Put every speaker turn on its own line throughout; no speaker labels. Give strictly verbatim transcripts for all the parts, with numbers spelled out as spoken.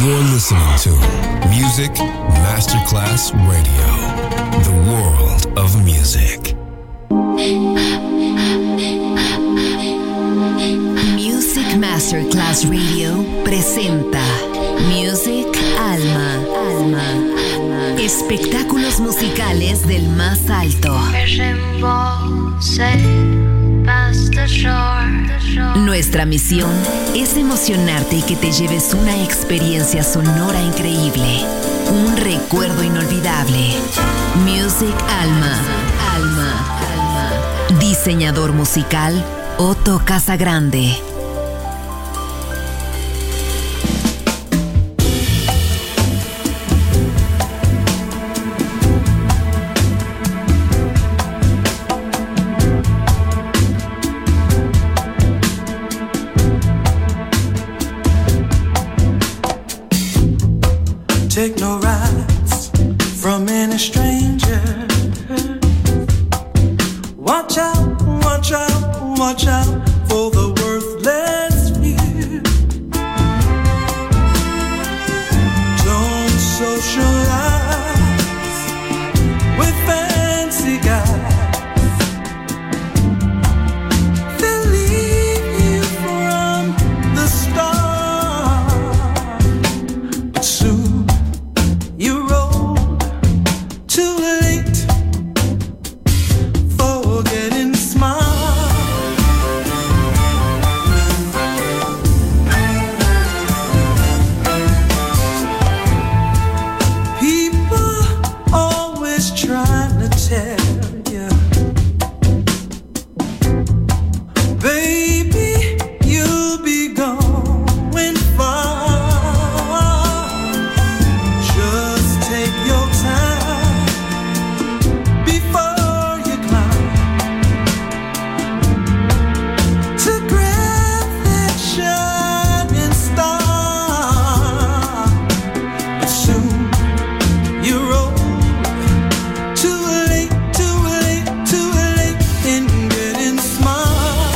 You're listening to Music Masterclass Radio, the world of music.
Music Masterclass Radio presenta Music Alma, Alma, espectáculos musicales del más alto. Nuestra misión es emocionarte y que te lleves una experiencia sonora increíble, un recuerdo inolvidable. Music Alma, Alma, Alma. Diseñador musical Otto Casagrande.
Take no rides from any stranger. Watch out, watch out, watch out for the worthless few. Don't socialize with fancy guys. They'll leave you from the start. But soon you roll too late, forgetting smile. People always trying to tell you, baby, you'll be going far. Just take your time before you climb to grab that shining star. But soon you're old, too late, too late, too late in getting smart.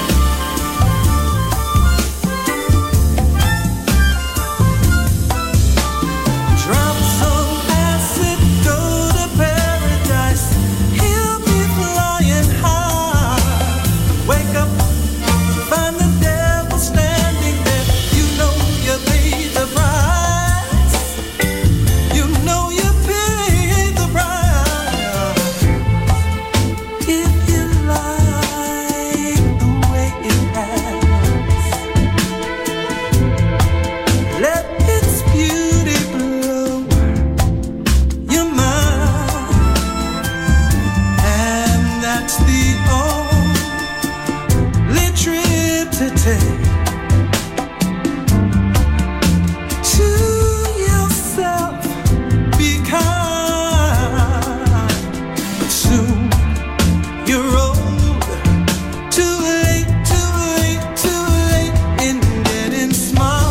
Drop some acid, go to paradise. He'll be flying high. Wake up, find the devil standing there. You know you paid the price. You know you paid the price. If you like the way it has, let its beauty blow your mind. And that's the only trip to take to yourself. Be kind. But soon you're old, too late, too late, too late in getting smart.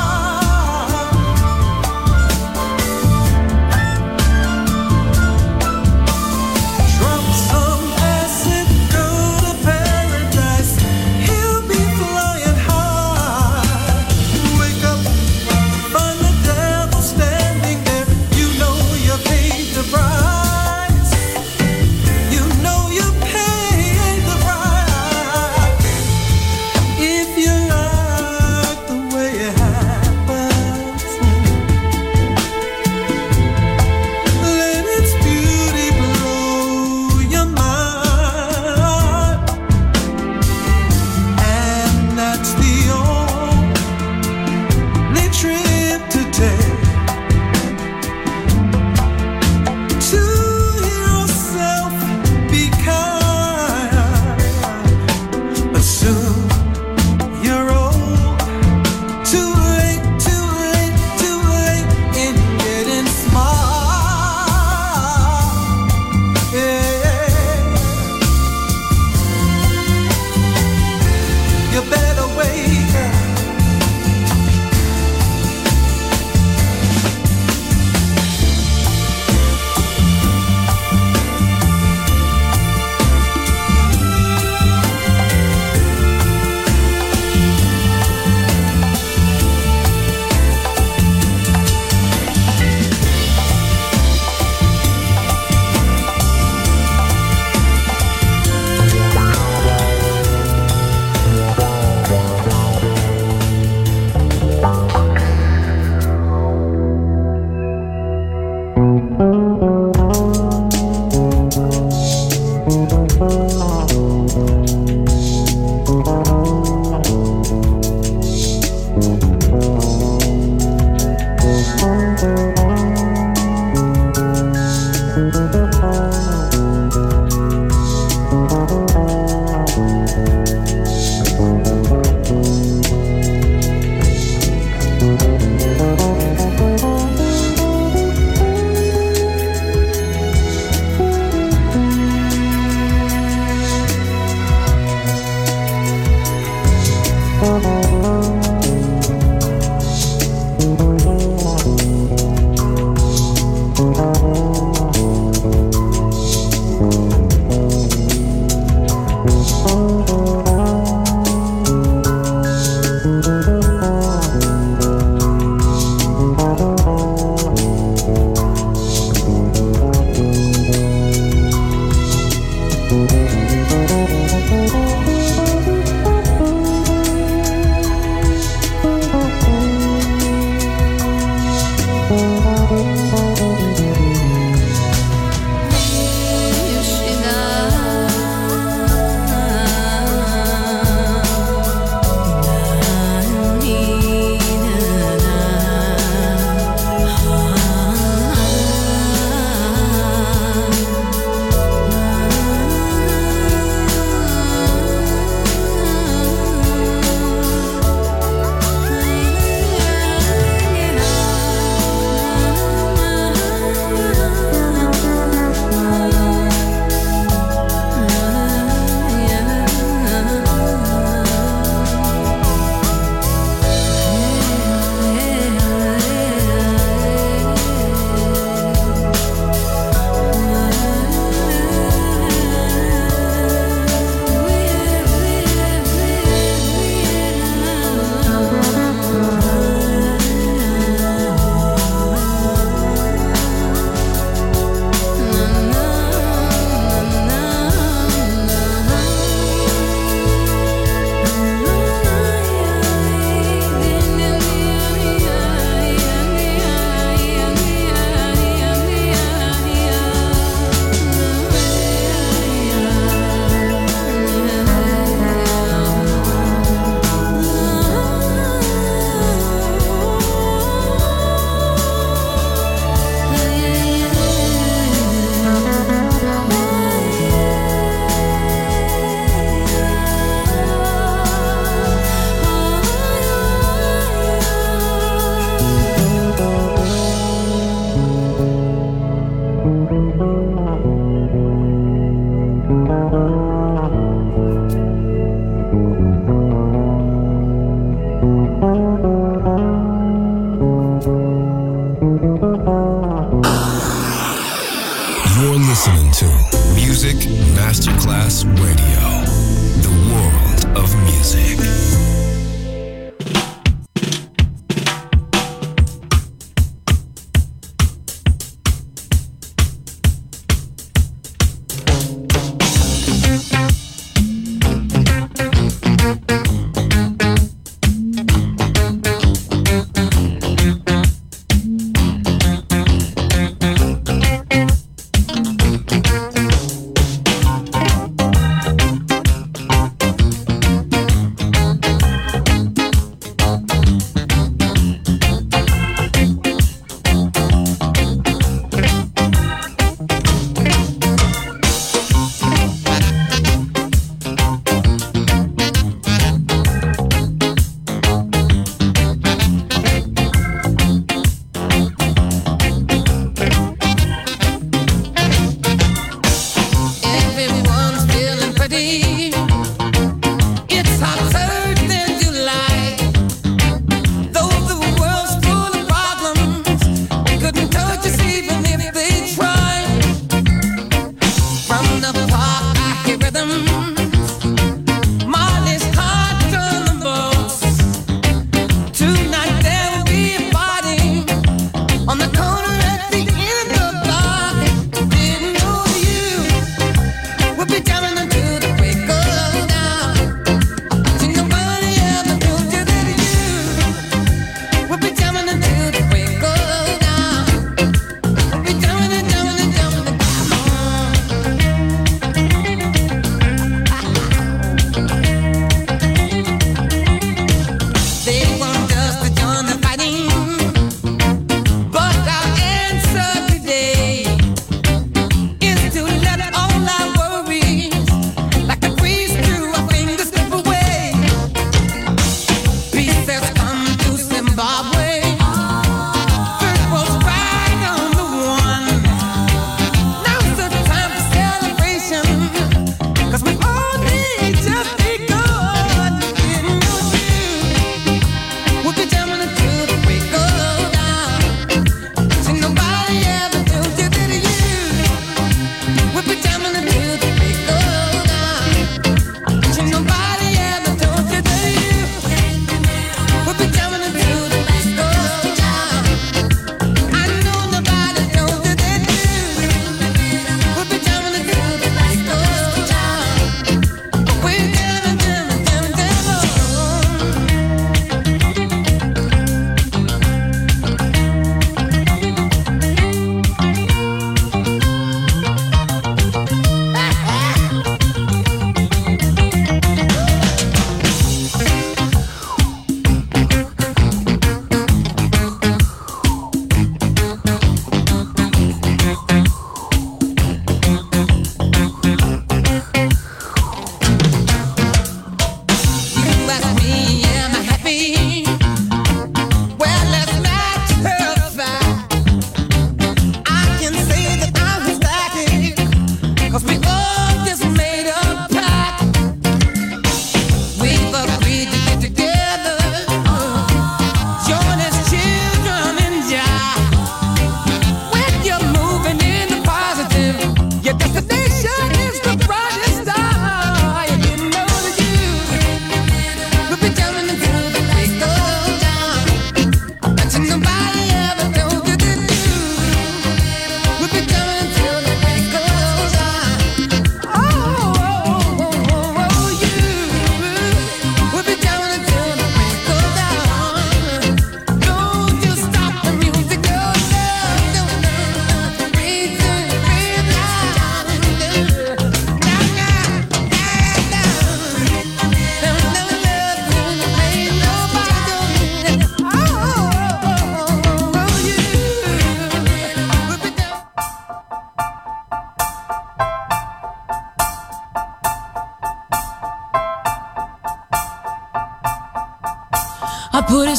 Drop some acid, go to paradise. He'll be flying high. Wake up, find the devil standing there. You know you paid the price. You know you paid the price. If you like the way it happens, let its beauty blow your mind. And that's the only trip to take to yourself. Be kind. But soon you're old, too late, too late, too late in getting smart. Yeah, you better wake up.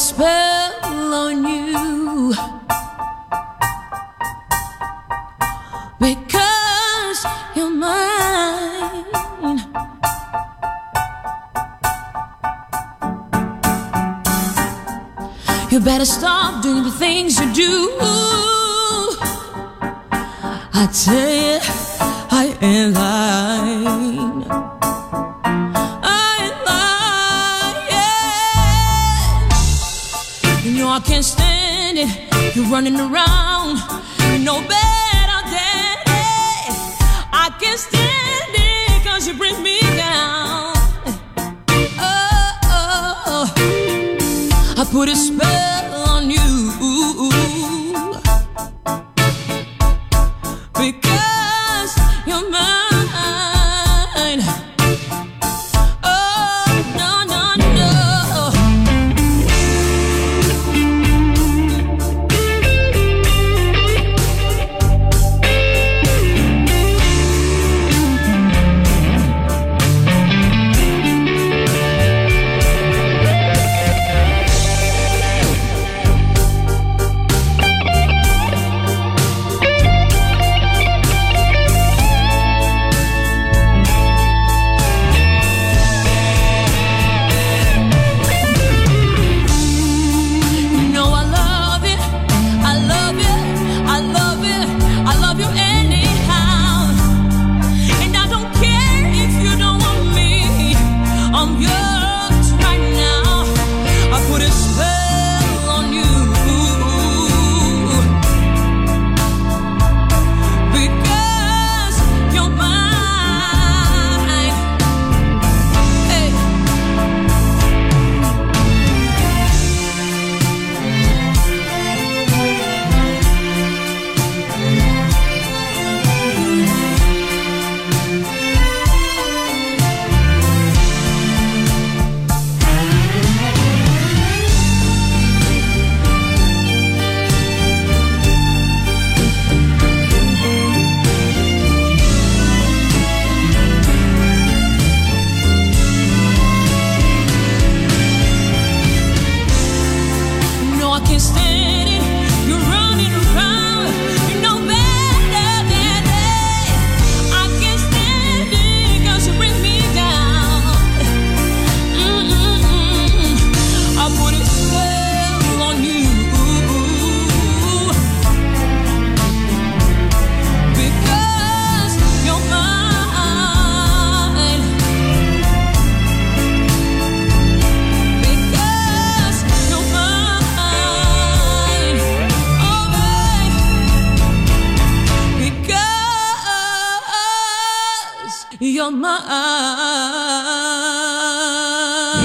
spell on you, because you're mine. You better stop doing the things you do. I tell you, I ain't lying. I ain't lying. You know I can't stand it. You're running around. You know better than it. I can't stand it 'cause you bring me down. Oh, oh, oh. I put a spell on you. Because you're mine. Oh, no, no, no. You're mine.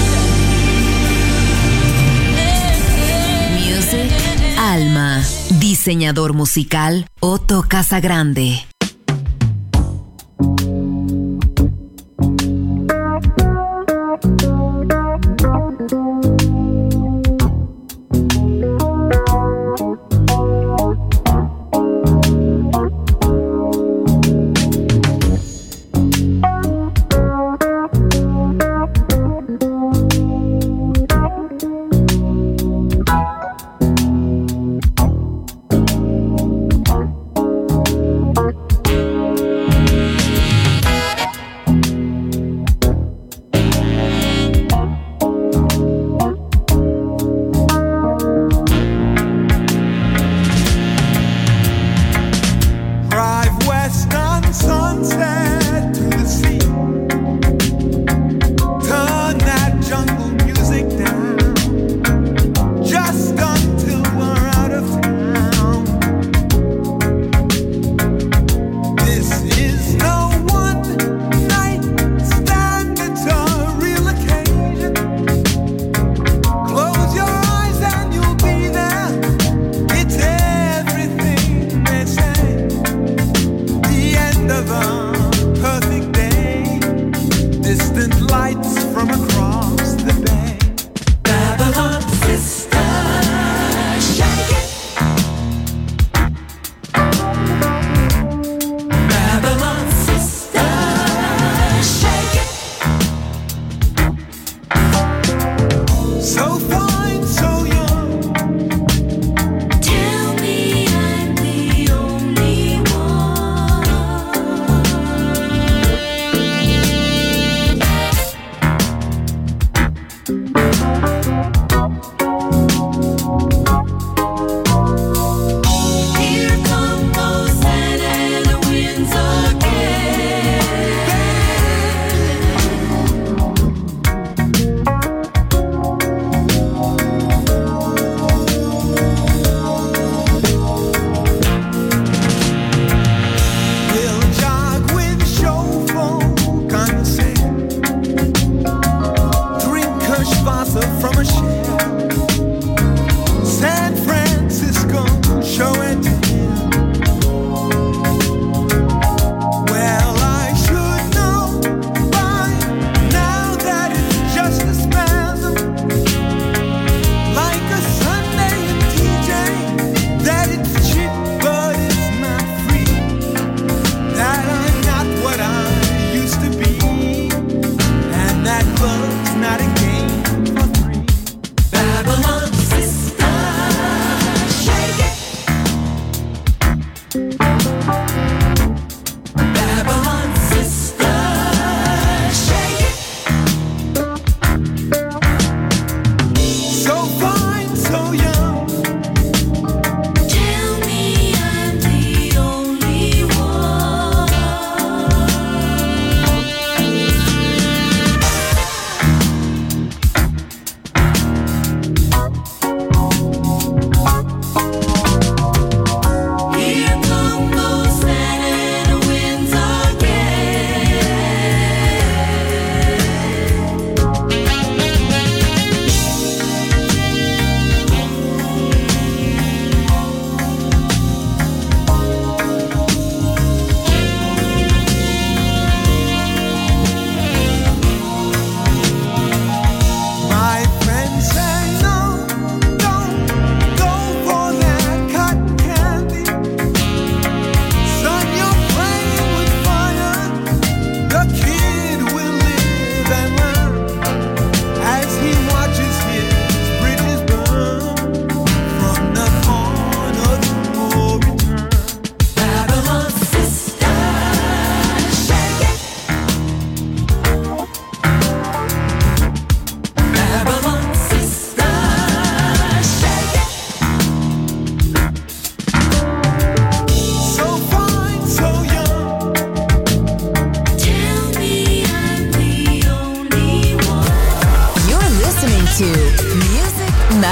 Music Alma. Diseñador musical Otto Casagrande.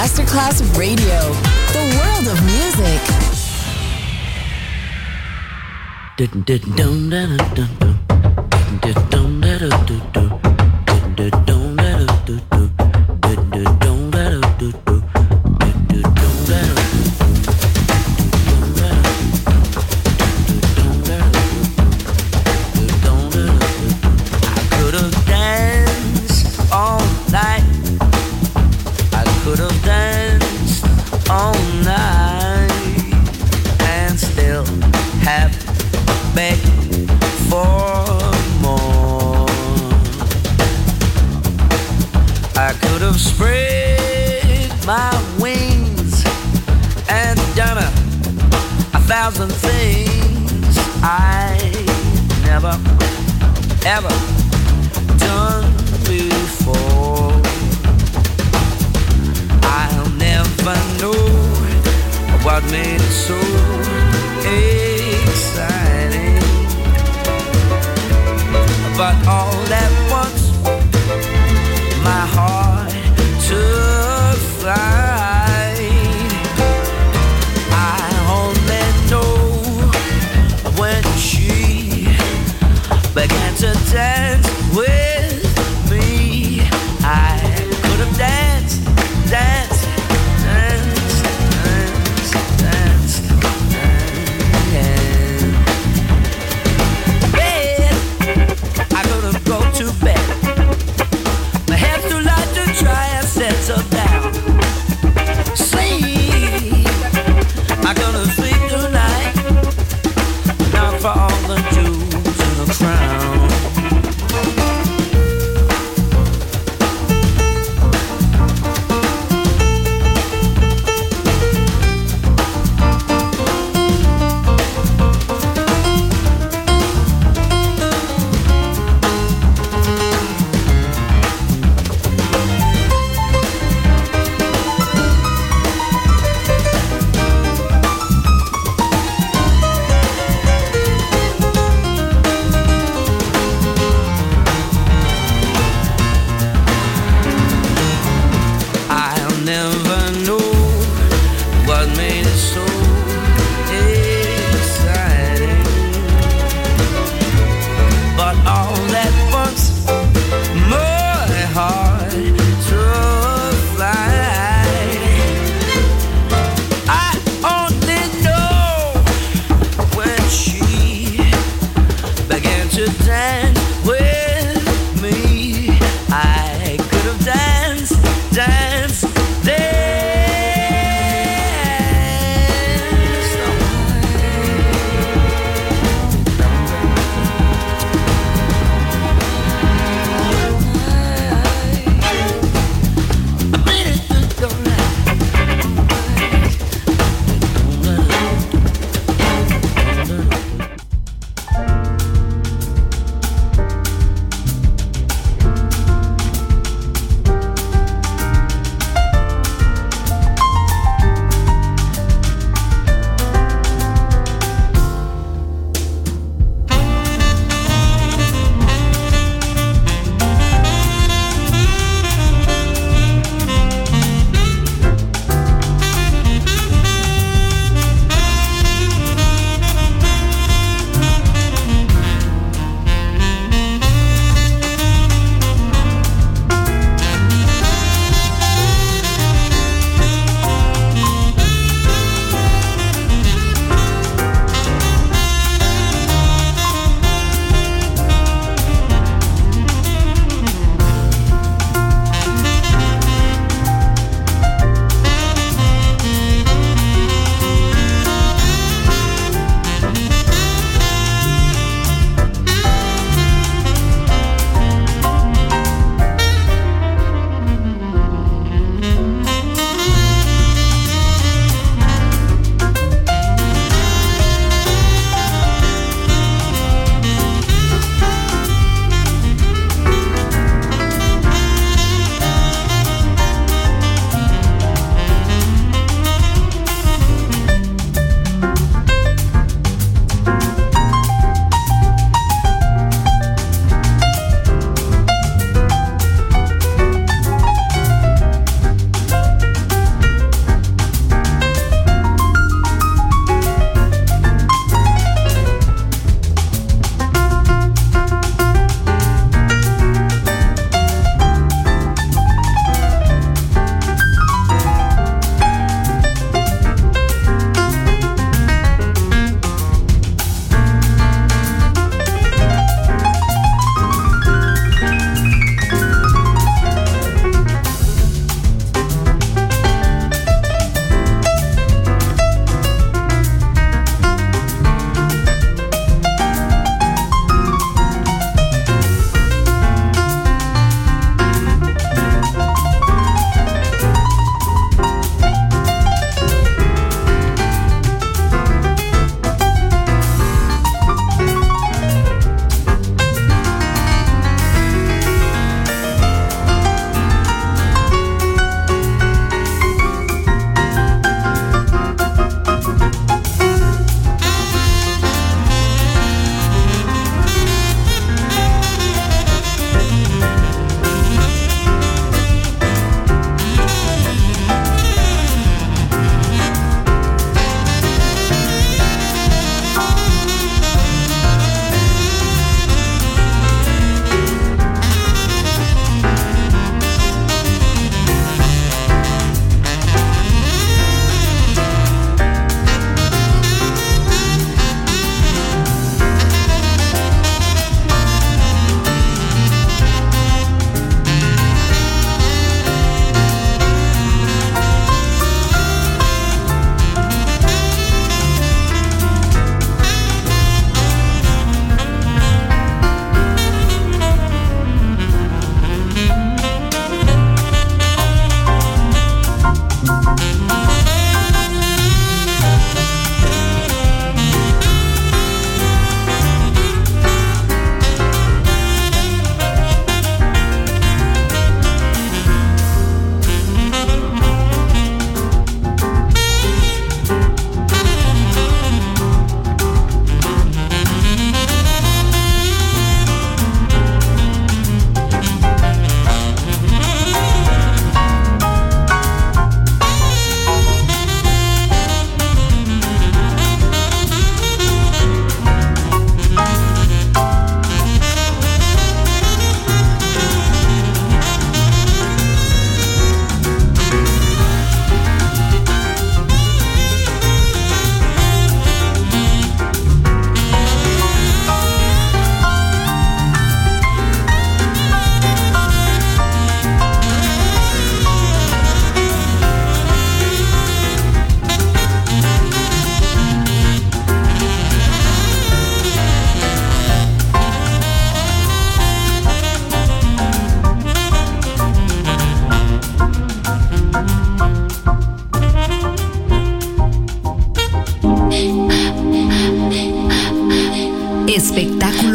Masterclass Radio, the world of music.
Thousand things I never, ever done before. I'll never know what made it so exciting, but all at once my heart took flight. Began to dance with me. I could have danced, danced, danced, danced, danced, danced. Bed, I couldn't go to bed.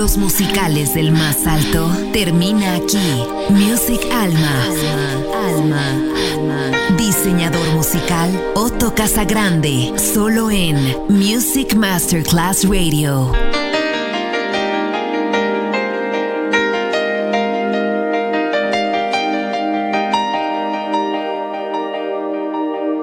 éxitos musicales del más alto termina aquí. Music Alma. Alma. Alma. Diseñador musical Otto Casagrande. Solo en Music Masterclass Radio.